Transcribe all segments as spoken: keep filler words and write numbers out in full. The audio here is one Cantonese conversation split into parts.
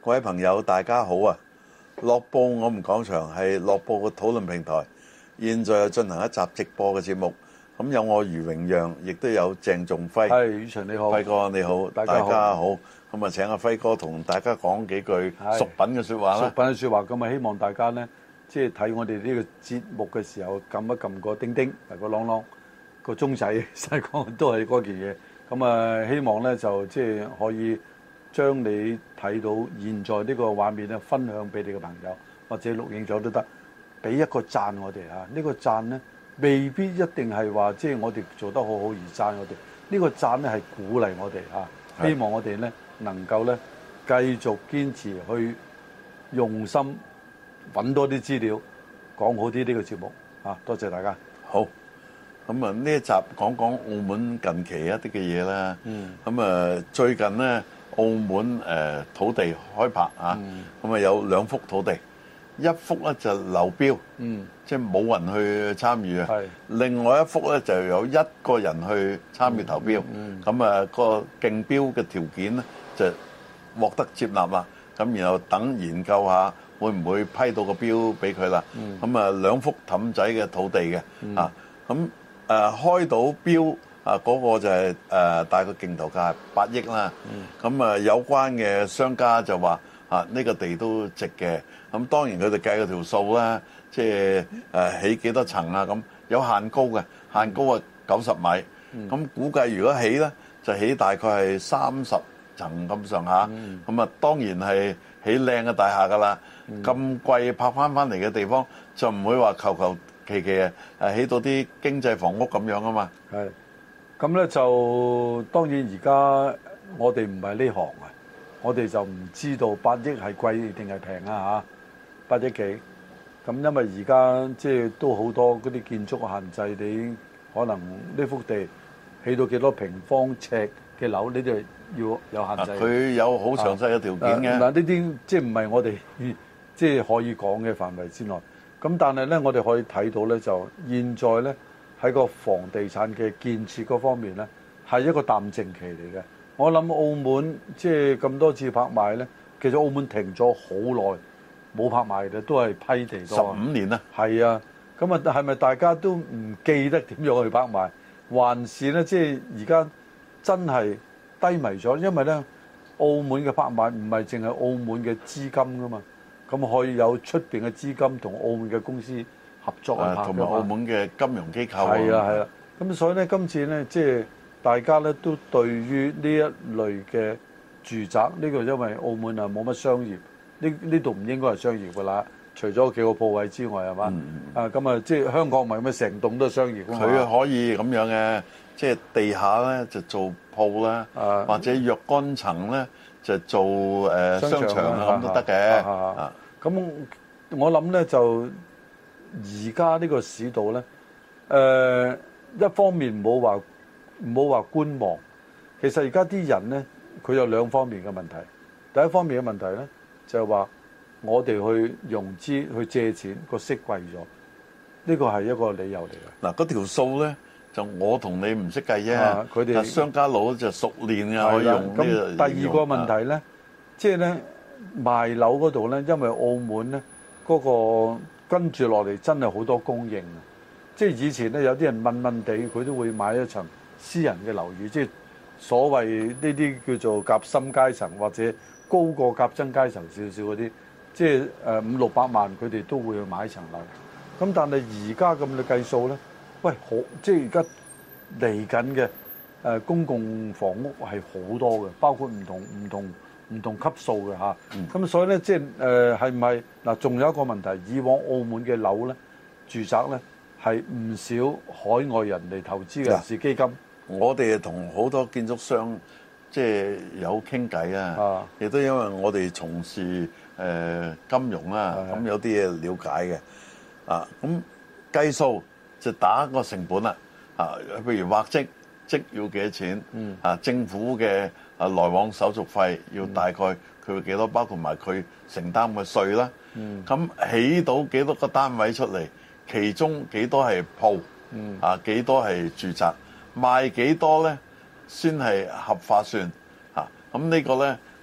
各位朋友，大家好啊！樂報我們講場係樂報嘅討論平台，現在進行一集直播嘅節目。咁有我余榮讓，亦都有鄭仲輝。 係，宇祥你好， 輝哥你好，大家好。咁啊，請阿輝哥同大家講幾句俗品嘅説話啦。 俗品嘅説話，咁啊，希望大家咧，即係睇我哋呢個節目嘅時候，撳一撳個叮叮，個啷啷個鐘仔，細講都係嗰件嘢。咁啊，希望咧就即係可以將你睇到現在呢個畫面咧，分享俾你嘅朋友，或者錄影咗都得，俾一個讚我哋啊！呢個讚咧，未必一定係話即係我哋做得好好而讚我哋。呢個讚咧係鼓勵我哋啊，希望我哋咧能夠咧繼續堅持去用心揾多啲資料，講好啲呢個節目啊！多謝大家。 好。咁啊，呢一集講講澳門近期一啲嘅嘢啦。嗯。咁啊，最近咧，澳門誒土地開拍啊。嗯。咁啊，有兩幅土地，一幅咧就流標。嗯。即係冇人去參與啊。係。另外一幅咧就有一個人去參與投標。嗯。咁啊，個競標嘅條件咧就獲得接納啦。咁然後等研究下會唔會批到個標俾佢啦。嗯。咁啊，兩幅氹仔嘅土地嘅。嗯。啊，咁。誒、啊、開到標啊！嗰、那個就係、是、誒、啊、大概競投價八億啦。咁、嗯、啊，有關嘅商家就話啊，呢、這個地都值嘅。咁當然佢哋計嗰條數啦，即係誒起幾多層啊？咁有限高嘅，限高啊九十米。咁、嗯、估計如果起咧，就起大概係三十層咁上下。咁、嗯、啊，當然係起靚嘅大廈㗎啦。咁、嗯、貴拍翻翻嚟嘅地方，就唔會話求求其其啊，誒起到啲經濟房屋咁樣啊嘛。係， 咁咧就當然而家我哋唔係呢行啊，我哋就唔知道八億係貴定係平啊嚇，八億幾。咁因為而家即係都好多嗰啲建築限制，你可能呢幅地起到幾多平方尺嘅樓，你就要有限制。 佢有好詳細嘅條件嘅。 嗱，呢啲即係唔係我哋即係可以講嘅範圍之內。咁但係咧，我哋可以睇到咧，就現在咧喺個房地產嘅建設嗰方面咧，係一個淡靜期嚟嘅。我諗澳門即係咁多次拍賣咧，其實澳門停咗好耐冇拍賣嘅，都係批地多。十五年啦。 係啊，咁啊，係咪大家都唔記得點樣去拍賣，還是咧即係而家真係低迷咗？因為咧，澳門嘅拍賣唔係淨係澳門嘅資金噶嘛。咁可以有出邊嘅資金同澳門嘅公司合作去拍， 同埋澳門嘅金融機構。 係啊係啊，咁所以咧，今次咧，即係大家咧都對於呢一類嘅住宅，呢個因為澳門啊冇乜商業，呢呢度唔應該係商業㗎啦，除咗幾個鋪位之外係嘛？啊咁啊，即係香港唔係咩成棟都係商業㗎嘛？ 佢可以咁樣嘅，即係地下咧就做鋪啦，或者若干層咧就做誒商場咁都得嘅。 咁我諗咧就而家呢個市道咧，誒、呃、一方面唔好話唔好話觀望，其實而家啲人咧佢有兩方面嘅問題。第一方面嘅問題咧就係話我哋去融資去借錢個息貴咗，呢個係一個理由嚟嘅。 嗱，嗰條數咧就我同你唔識計啫，佢哋商家佬就熟練嘅可以用。 咁第二個問題咧，即係咧。賣樓嗰度咧，因為澳門咧嗰個跟住落嚟真係好多供應啊！即係以前咧有啲人問問地，佢都會買一層私人嘅樓宇，即係所謂呢啲叫做夾心階層或者高過夾真階層少少嗰啲，即係誒五六百萬佢哋都會去買一層樓。咁但係而家咁嘅計數咧，喂好，即係而家嚟緊嘅誒公共房屋係好多嘅，包括唔同唔同。唔同級數嘅嚇，咁、嗯、所以咧，即係誒係咪嗱？仲有一個問題，以往澳門嘅樓咧、住宅咧係唔少海外人嚟投資嘅，是基金。 我哋同好多建築商即係有傾偈啊，亦都因為我哋從事誒、呃、金融啦，咁有啲嘢了解嘅啊。咁計數就打個成本啦，啊，譬如畫則則要幾多錢？嗯、啊，政府嘅。啊，來往手續費要大概佢會幾多，包括埋佢承擔嘅稅啦。咁、嗯、起到幾多個單位出嚟，其中幾多係鋪，嗯、啊幾多係住宅，賣幾多咧先係合法算。嚇、啊，咁呢個咧，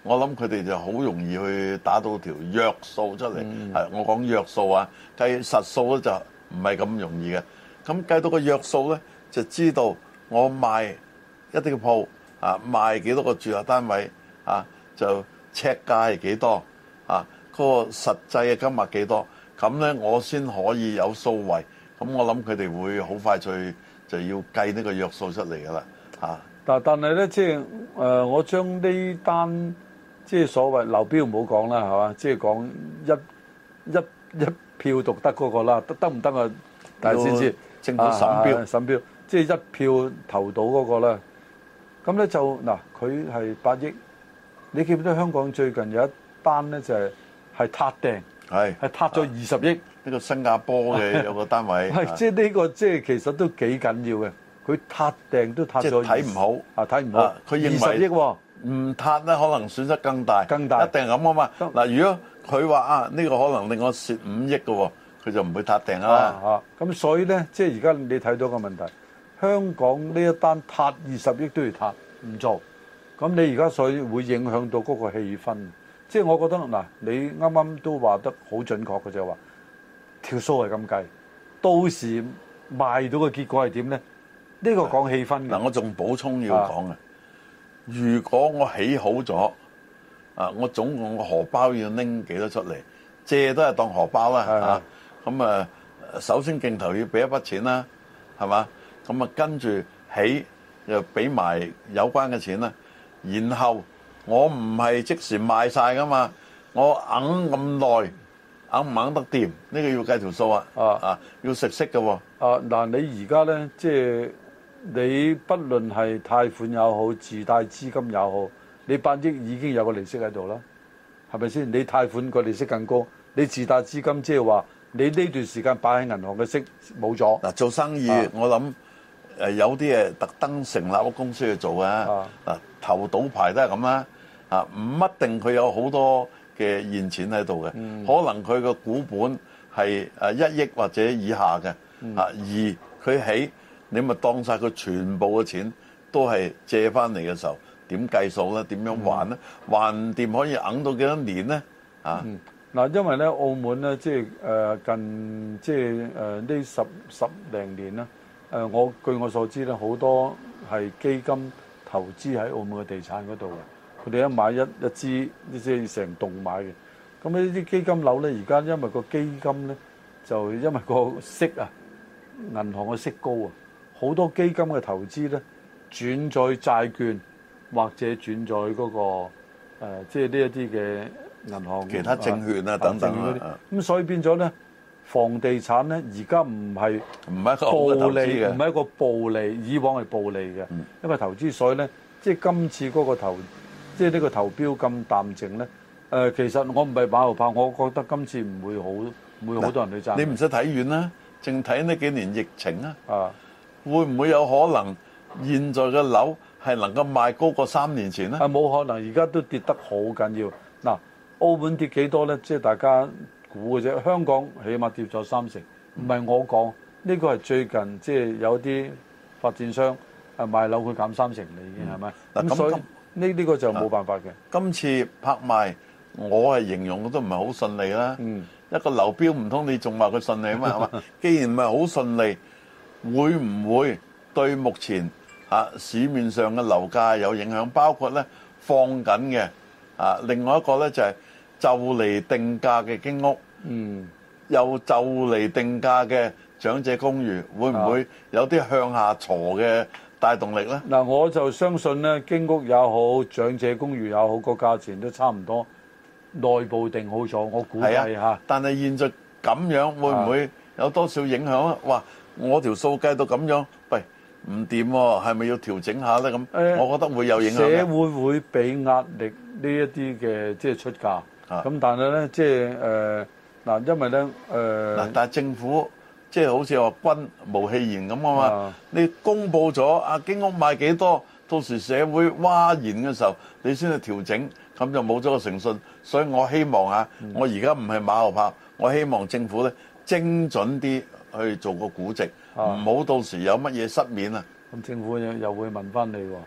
我諗佢哋就好容易去打到條約數出嚟。 嗯、 我講約數啊，計實數咧就唔係咁容易嘅。咁計到個約數咧，就知道我賣一啲嘅鋪啊，賣幾多個住宅單位啊，就尺價係幾多啊，嗰、嗰個實際嘅金額幾多，咁咧我先可以有數位。咁我諗佢哋會好快脆就要計呢個約數出嚟㗎啦嚇。 但但係咧，即係誒，我將呢單即係所謂流標唔好講啦，係嘛？即係講一一一票獨得嗰個啦，得得唔得啊？大家先知政府審標、啊、 審標，即係一票投到嗰個啦。咁咧就嗱，佢係八億。你記唔記得香港最近有一單咧，就係係撻訂，係係撻咗二十億。呢、 呢個新加坡嘅有個單位， 係即係呢個即係其實都幾緊要嘅。佢撻訂都撻咗， 睇唔好啊，睇唔好。 佢認為二十億喎， 唔撻咧可能損失更大， 更大， 一定係咁啊嘛。嗱，如果佢話啊，呢個可能令我蝕五億嘅喎，佢就唔會撻訂啦。 啊，咁所以咧，即係而家你睇到個問題，香港呢一單撻二十億都要撻，唔做。咁你而家所以會影響到嗰個氣氛。即係我覺得嗱，你啱啱都話得好準確嘅就係話，條數係咁計，到時賣到嘅結果係點咧？呢個講氣氛嘅。嗱， 我仲補充要講啊，如果我起好咗啊，我總共個荷包要拎幾多出嚟？借都係當荷包啦啊。咁啊，首先競投要俾一筆錢啦，係嘛？咁啊，跟住起又俾埋有關嘅錢啦。然後我唔係即時賣晒噶嘛，我揞咁耐，揞唔揞得掂？呢個要計條數啊！啊啊，要食息嘅喎。 啊嗱，你而家咧，即係你不論係貸款又好，自貸資金又好，你八億已經有個利息喺度啦，係咪先？你貸款個利息更高，你自貸資金即係話你呢段時間擺喺銀行嘅息冇咗。嗱， 做生意、啊、我諗誒有啲誒特登成立個公司去做啊。嗱，投賭牌都係咁啦。啊，唔一定佢有好多嘅現錢喺度嘅，可能佢個股本係誒一億或者以下嘅。啊，而佢起你咪當晒佢全部嘅錢都係借翻嚟嘅時候，點計數咧？點樣還咧？還掂可以揞到幾多年咧？啊， 嗱，因為咧澳門咧，即係誒近即係誒呢十十零年啦。誒，我據我所知咧，好多係基金投資喺澳門嘅地產嗰度嘅。佢哋一買一一支，即係成棟買嘅。咁呢啲基金樓咧，而家因為個基金咧，就因為個息啊，銀行嘅息高啊，好多基金嘅投資咧，轉在債券或者轉在嗰、那個、呃、即係呢一啲嘅銀行其他證券啊等等嗰啲。 咁所以變咗咧，房地產咧而家唔係唔係一個暴利嘅， 唔係一個暴利，以往係暴利嘅、嗯，因為投資，所以咧，即係今次嗰個投，即係呢個投標咁淡靜咧。誒、呃，其實我唔係馬後炮，我覺得今次唔會好，唔會好多人去賺。 你唔使睇遠啦，淨睇呢幾年疫情啊， 啊， 會唔會有可能現在嘅樓係能夠賣高過三年前咧？ 啊，冇可能，而家都跌得好緊要。嗱，澳門跌幾多咧？即係大家估嘅啫。香港起碼跌咗三成，唔係我講，呢個係最近即係有啲發展商啊賣樓佢減三成啦，已經係咪？嗱，咁所以呢呢個就冇辦法嘅。 今次拍賣我係形容都唔係好順利啦。嗯，一個流標唔通你仲話佢順利啊嘛？係嘛？既然唔係好順利，會唔會對目前啊市面上嘅樓價有影響？包括咧放緊嘅啊，另外一個咧就係就嚟定價嘅經屋，嗯，又就嚟定價嘅長者公寓，會唔會有啲向下挫嘅帶動力咧？ 嗱，我就相信咧，經屋也好，長者公寓也好，個價錢都差唔多。內部定好咗，我估計嚇、啊。 但係現在咁樣會唔會有多少影響啊？哇！我條數計到咁樣，喂，唔掂喎，係咪要調整下咧？咁、欸，我覺得會有影響。 社會會俾壓力呢一啲嘅即係出價。咁、啊、但係咧，即係誒嗱，因為咧誒嗱， 但係政府即係、就是、好似話軍無戲言咁啊嘛。你公佈咗啊，經屋賣幾多？到時社會嘩然嘅時候，你先去調整。咁就冇咗個誠信，所以我希望啊，嗯、我而家唔係馬後炮，我希望政府咧精準啲去做個估值，唔好、啊、到時有乜嘢失面啊！ 咁政府又又會問翻你喎，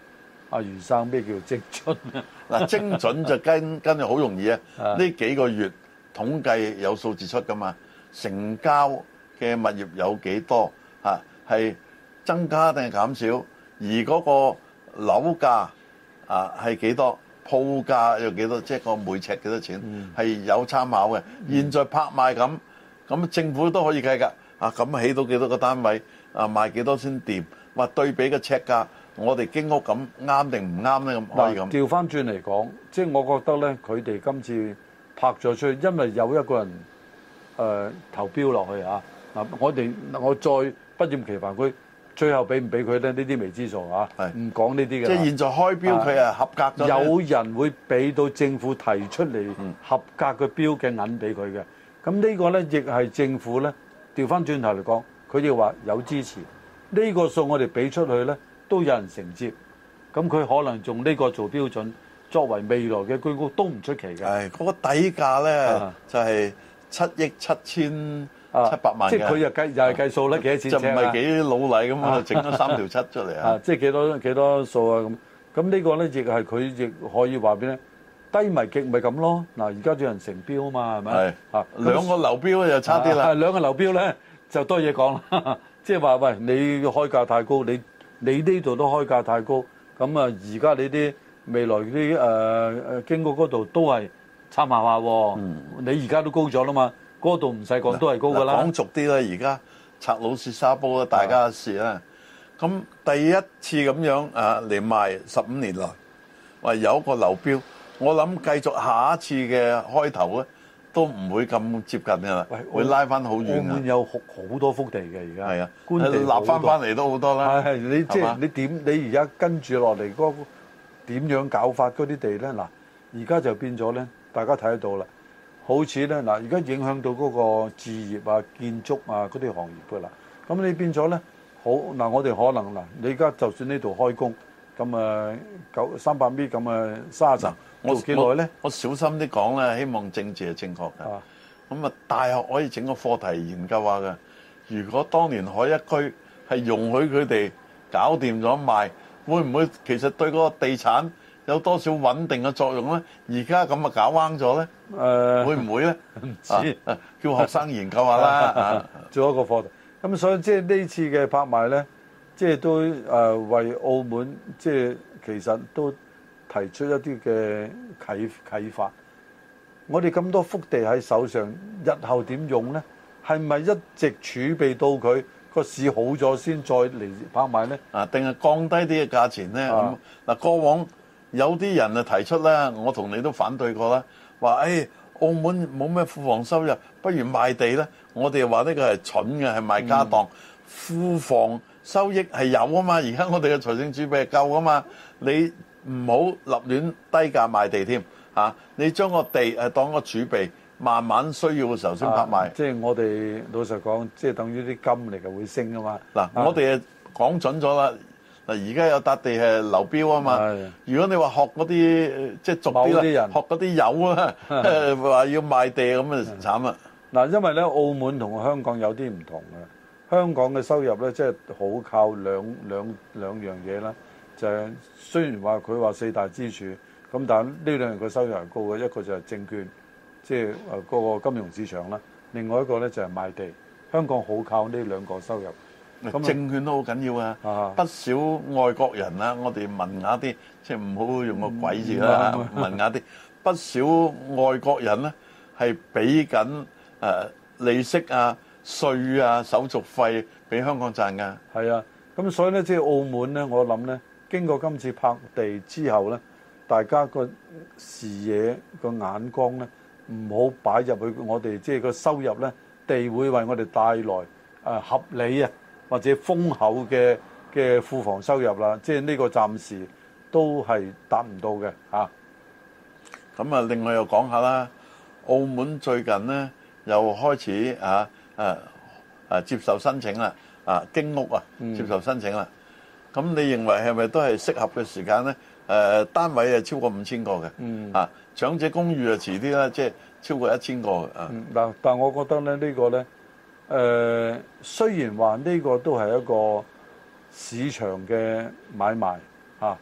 阿余生咩叫精準啊？ 嗱，精準就跟跟住好容易啊！呢幾個月統計有數字出噶嘛，成交嘅物業有幾多嚇？係增加定係減少？而嗰個樓價啊係幾多？鋪價有幾多？即係個每尺幾多錢？係有參考嘅。現在拍賣咁，咁政府都可以計㗎。啊，咁起到幾多個單位？啊，賣幾多先掂？話對比個尺價，我哋經屋咁啱定唔啱咧？咁可以咁。 調翻轉嚟講，即係我覺得咧，佢哋今次拍咗出去，因為有一個人誒、呃、投標落去啊。嗱，我哋我再不厭其煩，佢最後俾唔俾佢咧？呢啲未知數啊。係唔講呢啲嘅。即係現在開標，佢係合格咗。 有人會俾到政府提出嚟合格嘅標嘅銀俾佢嘅。咁呢個咧，亦係政府咧調翻轉頭嚟講，佢哋話有支持。呢個數我哋俾出去咧，都有人承接。咁佢可能用呢個做標準，作為未來嘅居屋都唔出奇嘅。 係嗰個底價咧，就係七億七千七百萬嘅。 即係佢又計又係計數咧，幾多錢？ 就唔係幾老禮咁啊，整咗三條七出嚟啊！ 即係幾多幾多數啊？咁咁呢個咧，亦係佢亦可以話俾你低迷極咪咁咯。嗱，而家有人成標啊嘛，係咪？係啊， 兩個流標就差啲啦。 係兩個流標咧，就多嘢講啦。即係話喂，你開價太高，你你呢度都開價太高，咁啊而家你啲未來啲誒誒經過嗰度都係參考下喎。嗯、你而家都高咗啦嘛，嗰度唔使講都係高噶啦。 講俗啲啦，而家拆老鼠沙煲啦，大家嘅事啦。咁、啊、第一次咁樣啊嚟賣十五年來，話有一個流標，我諗繼續下一次嘅開頭咧。都唔會咁接近㗎啦，會拉翻好遠。澳門有好好多幅地嘅而家，係啊，官地立翻翻嚟都好多啦。係係，你即係你點？你而家跟住落嚟嗰個點樣搞法嗰啲地咧？嗱，而家就變咗咧，大家睇得到啦。好似咧嗱，而家影響到嗰個置業啊、建築啊嗰啲行業㗎啦。咁你變咗咧，好嗱，我哋可能嗱，你而家就算呢度開工，咁啊九三百米咁啊三十層。我幾耐咧？我小心啲講啦，希望政治係正確嘅。咁啊，大學可以整個課題研究下嘅。如果當年海一居係容許佢哋搞掂咗賣，會唔會其實對嗰個地產有多少穩定嘅作用咧？而家咁啊搞彎咗咧？誒，會唔會咧？唔知，叫學生研究下啦。做一個課題。咁所以即係呢次嘅拍賣咧，即係都誒為澳門即係其實都提出一啲嘅啟啟發，我哋咁多幅地喺手上，日後點用呢？係咪一直儲備到佢個市好咗先再嚟拍賣呢？啊，定係降低啲嘅價錢呢？咁嗱，過往有啲人啊提出咧，我同你都反對過啦，話誒澳門冇咩庫房收入，不如賣地呢。我哋話呢個係蠢嘅，係賣家當。庫房收益係有啊嘛，而家我哋嘅財政儲備係夠啊嘛，你唔好立亂低價賣地添嚇，你將個地誒當個儲備，慢慢需要嘅時候先拍賣。即係我哋老實講，即係等於啲金嚟嘅會升啊嘛。嗱，我哋誒講準咗啦。嗱，而家有笪地係流標啊嘛。如果你話學嗰啲即係俗啲啦，學嗰啲友啊，話要賣地咁啊慘啦。嗱，因為咧澳門同香港有啲唔同嘅，香港嘅收入咧即係好靠兩兩兩樣嘢啦。就係雖然話佢話四大支柱，咁但係呢兩樣嘅收入係高嘅，一個就係證券，即係誒嗰個金融市場啦；另外一個咧就係賣地。香港好靠呢兩個收入。咁證券都好緊要啊！啊不少外國人啊，我哋文雅啲，即係唔好用個鬼字啦，嗯、文雅啲。不少外國人咧係俾緊誒利息啊、稅啊、手續費俾香港賺㗎。係啊，咁所以咧，即係澳門咧，我諗咧。經過今次拍地之後呢，大家個視野個眼光呢，唔好擺入去我哋即係個收入呢，地會為我哋帶來誒合理啊或者豐厚嘅嘅庫房收入啦。即係呢個暫時都係達唔到嘅嚇。咁啊，另外又講下啦，澳門最近呢又開始啊誒誒接受申請啦，啊經屋啊接受申請啦。咁你認為係咪都係適合嘅時間咧？誒單位係超過五千個嘅，嗯啊長者公寓啊遲啲啦，即係超過一千個啊。嗱，但係我覺得咧呢個咧誒雖然話呢個都係一個市場嘅買賣嚇，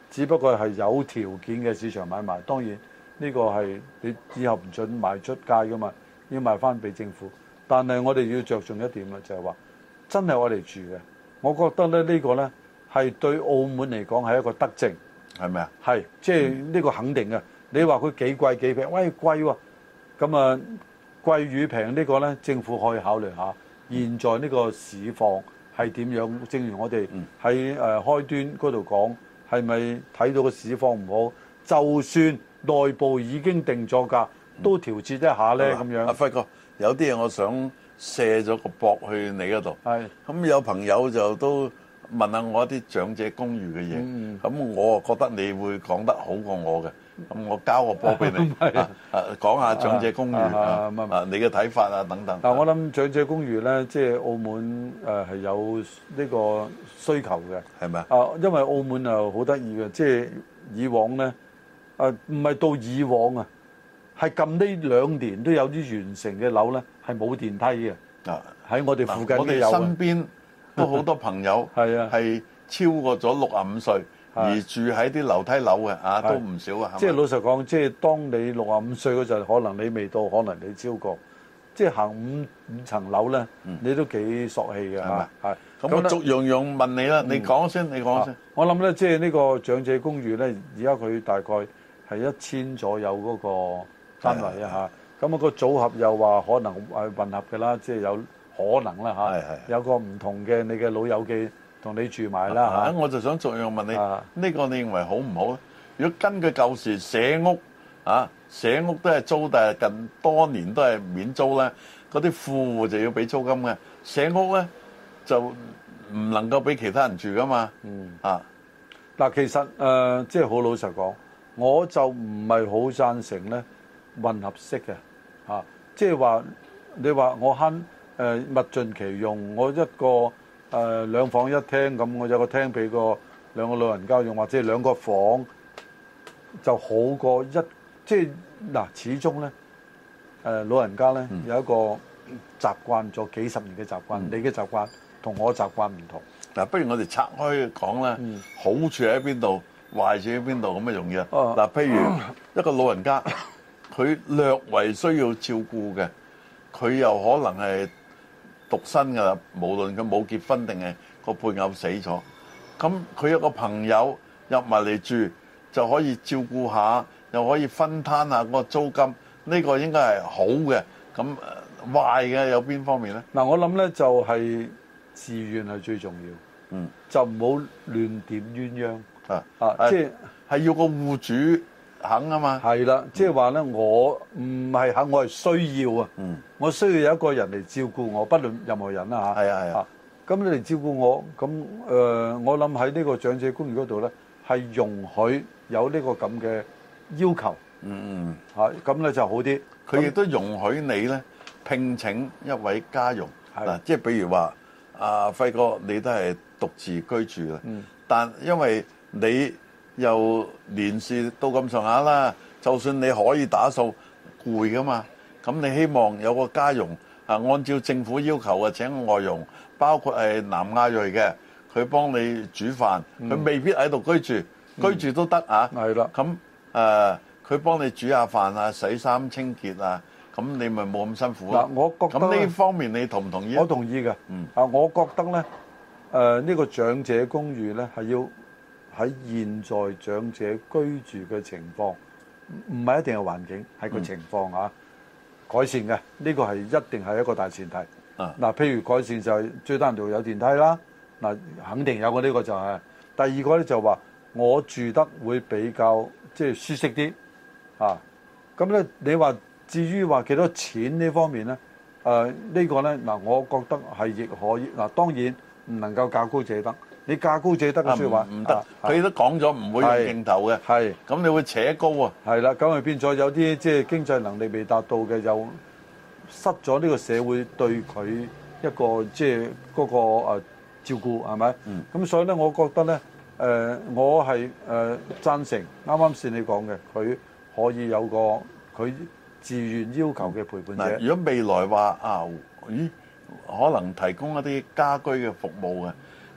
只不過係有條件嘅市場買賣。當然呢個係你以後唔準賣出街噶嘛，要賣翻俾政府。但係我哋要着重一點啦，就係話真係我哋住嘅。我覺得咧呢個呢係對澳門嚟講係一個德政， 係咪啊？ 係，即係呢個肯定嘅。你話佢幾貴幾平？喂，貴喎！咁啊貴與平呢個呢，政府可以考慮下。現在呢個市況係點樣？正如我哋喺誒開端嗰度講，係咪睇到個市況唔好？就算內部已經定咗價，都調節一下呢。咁、嗯、樣。阿輝哥， 有啲嘢我想卸咗個膊去你嗰度。係。咁有朋友就都問下我一啲長者公寓嘅嘢。咁、嗯、我覺得你會講得好過我嘅。咁我交個波俾你，啊啊講下長者公寓啊，啊，啊你嘅睇法啊等等。 嗱，我諗長者公寓咧，即係澳門誒係有呢個需求嘅，係咪啊？啊，因為澳門又好得意嘅，即係以往咧，誒唔係到以往啊，係近呢兩年都有啲完成嘅樓咧，係冇電梯嘅。啊，喺我哋附近，我哋身邊都好多朋友係啊，係超過咗六十五歲。而住喺啲樓梯樓嘅啊，都唔少啊。 即係老實講，即係當你六十五歲嗰陣，可能你未到，可能你超過。即係行五五層樓咧，你都幾索氣嘅嚇。係。 咁我逐樣樣問你啦，你講先，你講先。 我諗咧，即係呢個長者公寓咧，而家佢大概係一千左右嗰個單位啊嚇。咁啊個組合又話可能係混合嘅啦，即係有可能啦嚇。係係。有個唔同嘅你嘅老友記。同你住埋啦嚇、啊， 我就想逐樣問你，呢、啊呢個你認為好唔好咧？如果根據舊時社屋啊，社屋都係租，但係近多年都係免租咧，嗰啲富戶就要俾租金嘅，社屋咧就唔能夠俾其他人住噶嘛。嗯啊， 嗱，其實誒即係好老實講，我就唔係好贊成咧混合式嘅嚇，即係話你話我慳誒、呃、物盡其用，我一個。誒、呃、兩房一廳咁，我有個廳俾個兩個老人家用，或者兩個房就好過一，即係嗱，始終咧誒、呃、老人家咧、嗯、有一個習慣咗幾十年嘅習慣，嗯、你嘅習慣同我習慣唔同。 嗱，不如我哋拆開講啦、嗯，好處喺邊度，壞處喺邊度咁嘅容易啊。嗱，譬如一個老人家，佢略為需要照顧嘅，佢又可能係獨身㗎啦，無論佢冇結婚定係個配偶死咗，咁佢有個朋友入埋嚟住，就可以照顧下，又可以分攤下個租金，呢個應該係好嘅。咁壞嘅有邊方面咧？ 嗱，我諗咧就係自願係最重要，嗯，就唔好亂點鴛鴦啊啊！即係係要個戶主肯啊嘛， 係啦，即係話咧，我唔係肯，我係需要啊。嗯，我需要有一個人嚟照顧我，不論任何人啦嚇。係啊係啊。咁你嚟照顧我，咁誒、呃，我諗喺呢個長者公寓嗰度咧，係容許有呢個咁嘅要求。嗯嗯。嚇，咁咧就好啲。 佢亦都容許你咧聘請一位家傭。嗱，即係比如話，阿輝哥你都係獨自居住啦。嗯。但因為你又年事到咁上下啦，就算你可以打掃，攰噶嘛。咁你希望有個家傭啊，按照政府要求嘅請外傭，包括係南亞裔嘅，佢幫你煮飯，佢、嗯、未必喺度居住，嗯、居住都得啊。係啦。咁誒，佢、呃、幫你煮下飯啊、洗衫清潔啊，咁你咪冇咁辛苦咯。嗱，我覺得咁呢方面你同唔同意？ 我同意嘅。嗯。啊，我覺得咧，誒、呃、呢、呢個長者公寓咧係要喺現在長者居住嘅情況，唔係一定係環境，係個情況啊、嗯、改善嘅。呢、呢個係一定係一個大前提。啊，嗱，譬如改善就係最低限度有電梯啦。嗱，肯定有嘅，呢個就係、是。第二個咧就話我住得會比較即係舒適啲。啊，咁咧你話至於話幾多錢呢方面咧？誒、呃這個、呢個咧嗱，我覺得係亦可以。嗱，當然唔能夠價高者得。你價高者得嘅説話唔得，佢、啊、都講咗唔會用鏡頭嘅。係，咁你會扯高啊？係啦，咁咪變咗有啲即係經濟能力未達到嘅，又失咗呢個社會對佢一個即係嗰個誒照顧係咪？咁、嗯、所以咧，我覺得咧誒、呃，我係誒、呃、贊成啱啱先你講嘅，佢可以有個佢自願要求嘅陪伴者。 如果未來話啊，咦，可能提供一啲家居嘅服務嘅。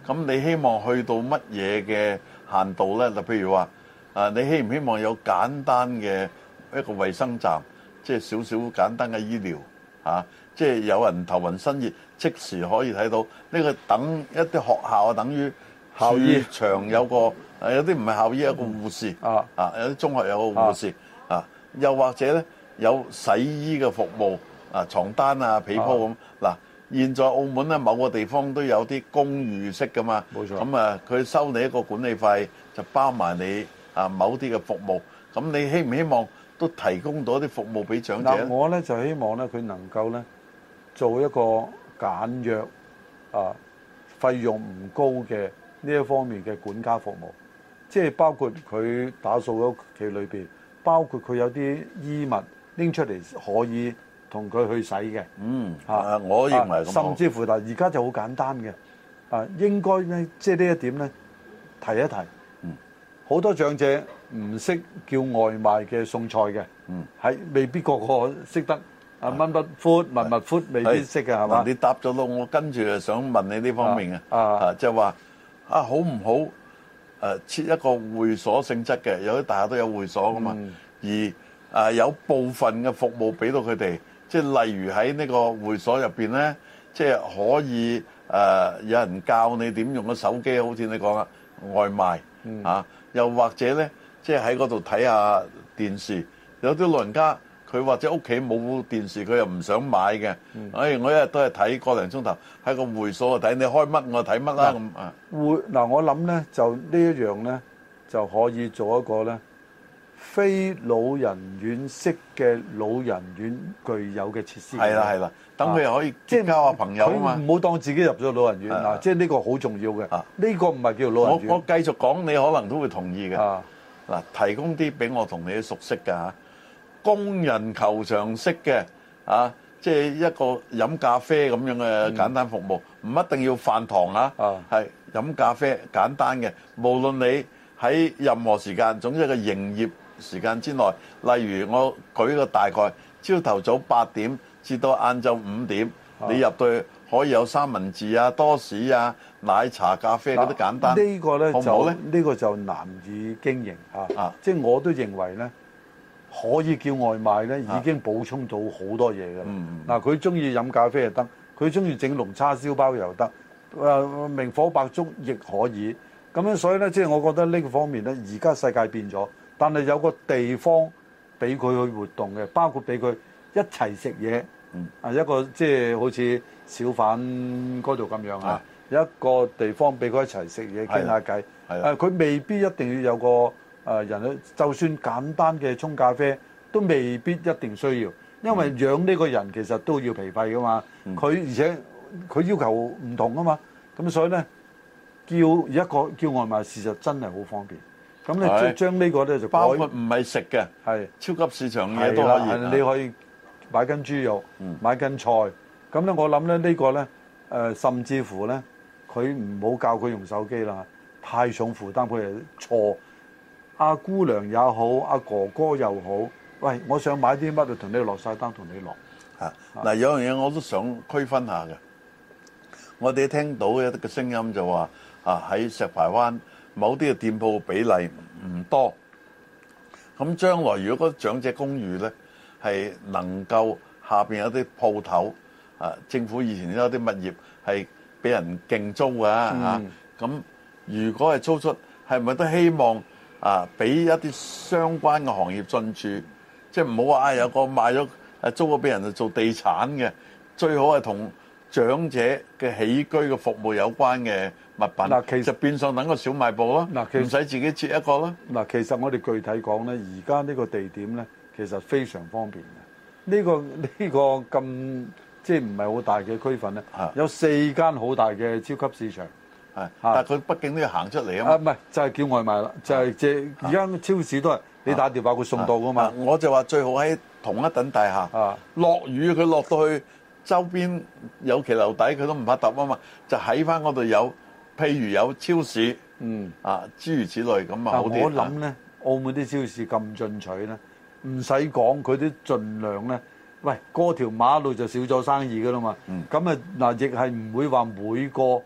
咁你希望去到乜嘢嘅限度咧？就譬如話，啊，你希唔希望有簡單嘅一個衛生站，即係少少簡單嘅醫療啊？即係有人頭暈身熱，即時可以睇到。呢個等一啲學校啊，等於校醫場有個，有啲唔係校醫，有個護士啊，啊，有啲中學有個護士啊，又或者咧有洗衣嘅服務啊，床單啊、被鋪咁嗱。現在澳門咧某個地方都有啲公寓式噶嘛，冇錯。咁啊，佢收你一個管理費，就包埋你啊某啲嘅服務。咁你希唔希望都提供到一啲服務俾長者咧？ 我咧就希望咧佢能夠咧做一個簡約啊，費用唔高嘅呢一方面嘅管家服務，即係包括佢打掃屋企裏邊，包括佢有啲衣物拎出嚟可以同佢去洗嘅。嗯， 啊，我認為咁、啊、 甚至乎嗱，而家就好簡單嘅，啊，應該咧，即係呢一點咧，提一提。嗯，好多長者唔識叫外賣嘅送菜嘅，嗯，係未必個個識得。啊，蚊筆闊、密密闊，未必識嘅係嘛？ 你答咗咯，我跟住就想問你呢方面嘅，啊，即係話啊，好唔好誒設一個會所性質嘅？有啲大廈都有會所噶嘛，而啊有部分嘅服務俾到佢哋，即係例如喺呢個會所入邊咧，即係可以誒有人教你點用個手機，好似你講啊外賣啊，又或者咧，即係喺嗰度睇下電視，有啲老人家。佢或者屋企冇電視，佢又唔想買嘅。嗯、哎，我一日都係睇個零鐘頭，喺個會所度睇，你開乜我睇乜啦咁啊。會嗱，我諗咧就呢一樣咧就可以做一個咧非老人院式嘅老人院具有嘅設施。係啦係啦，等佢又可以即係交下朋友啊嘛。唔好當自己入咗老人院嗱，即係呢個好重要嘅。呢、啊、個唔係叫老人院。 我我繼續講，你可能都會同意嘅。嗱、啊，提供啲俾我同你熟悉㗎嚇。工人球場式嘅啊，即係一個飲咖啡咁樣嘅簡單服務，唔、嗯、一定要飯堂啊，係飲咖啡簡單嘅。無論你喺任何時間，總之個營業時間之內，例如我舉個大概，朝頭早八點至到晏晝五點，啊、你入到去可以有三文治啊、多士啊、奶茶、咖啡嗰啲簡單。 呢個咧就呢個就難以經營啊，啊即係我都認為咧。可以叫外賣咧，已經補充到好多嘢㗎啦。嗱、啊，佢中意飲咖啡又得，佢中意整龍叉燒包又得，誒、呃、明火白粥亦可以。咁樣所以咧，即係我覺得呢個方面咧，而家世界變咗，但係有個地方俾佢去活動嘅，包括俾佢一齊食嘢。啊，一個即係好似小販嗰度咁樣啊，有一個地方俾佢一齊食嘢傾下偈。誒，佢未必一定要有個。誒人咧，就算簡單嘅沖咖啡都未必一定需要，因為養呢個人其實都要皮費噶嘛。佢、嗯、而且佢要求唔同啊嘛，咁所以咧叫一個叫外賣，事實真係好方便。咁咧將呢個咧就包括唔係食嘅，係超級市場嘢都可以。 你可以買斤豬肉，嗯、買斤菜。咁咧我諗咧呢個咧誒，甚至乎咧佢唔好教佢用手機啦，太重負擔佢係錯。阿姑娘也好，阿哥哥又好，喂，我想買啲乜就同你落晒單，同你落。 嚇嗱，有樣嘢我都想區分下嘅。我哋聽到一啲嘅聲音就話啊，喺石排灣某啲嘅店鋪比例唔多。咁將來如果嗰長者公寓咧係能夠下邊有啲鋪頭啊，政府以前都有啲物業係俾人競租㗎嚇。咁、嗯、如果係租出，係咪都希望？啊！俾一啲相關嘅行業進駐，即係唔好話啊有個賣咗誒租咗俾人就做地產嘅，最好係同長者嘅起居嘅服務有關嘅物品。嗱，其實變相等個小賣部咯，嗱，唔使自己設一個咯。 嗱，其實我哋具體講咧，而家呢個地點咧，其實非常方便嘅。呢個呢個咁即係唔係好大嘅區份咧，有四間好大嘅超級市場。 係，但係佢畢竟都要行出嚟啊嘛。啊， 唔係就係、是、叫外賣啦，就係即係而家超市都係你打電話佢送到噶嘛。 我就話最好喺同一等大廈。啊，落雨佢落到去周邊有騎樓底，佢都唔怕揼啊嘛。就喺翻嗰度有，譬如有超市，嗯啊諸如此類咁啊好啲。我諗咧， 澳門啲超市咁進取咧，唔使講，佢都盡量咧。喂，過條馬路就少咗生意噶啦嘛。咁啊嗱，亦係唔會話每個。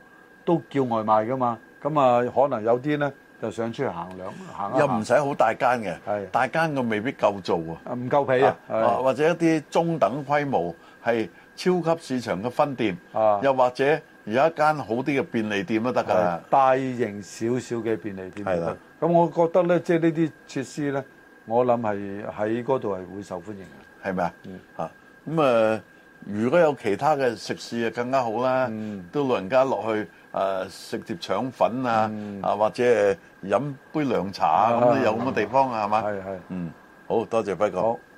都叫外賣噶嘛。咁啊，可能有啲咧就想出去行兩行一行， 又唔使好大間嘅， 係大間嘅未必夠做啊， 唔夠皮啊， 啊或者一啲中等規模係超級市場嘅分店， 啊又或者有一間好啲嘅便利店都得㗎， 大型少少嘅便利店係啦。 咁我覺得咧，即係呢啲設施咧，我諗係喺嗰度係會受歡迎嘅， 係咪啊？ 嗯嚇咁啊！如果有其他嘅食肆就更加好啦， 嗯都老人家落去誒食碟腸粉啊，啊或者誒飲杯涼茶啊，咁都有咁嘅地方啊，係嘛？ 係係， 嗯，好多謝輝哥。 好。